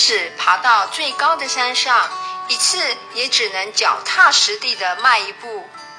使爬到最高的山上，一次也只能脚踏实地地迈一步，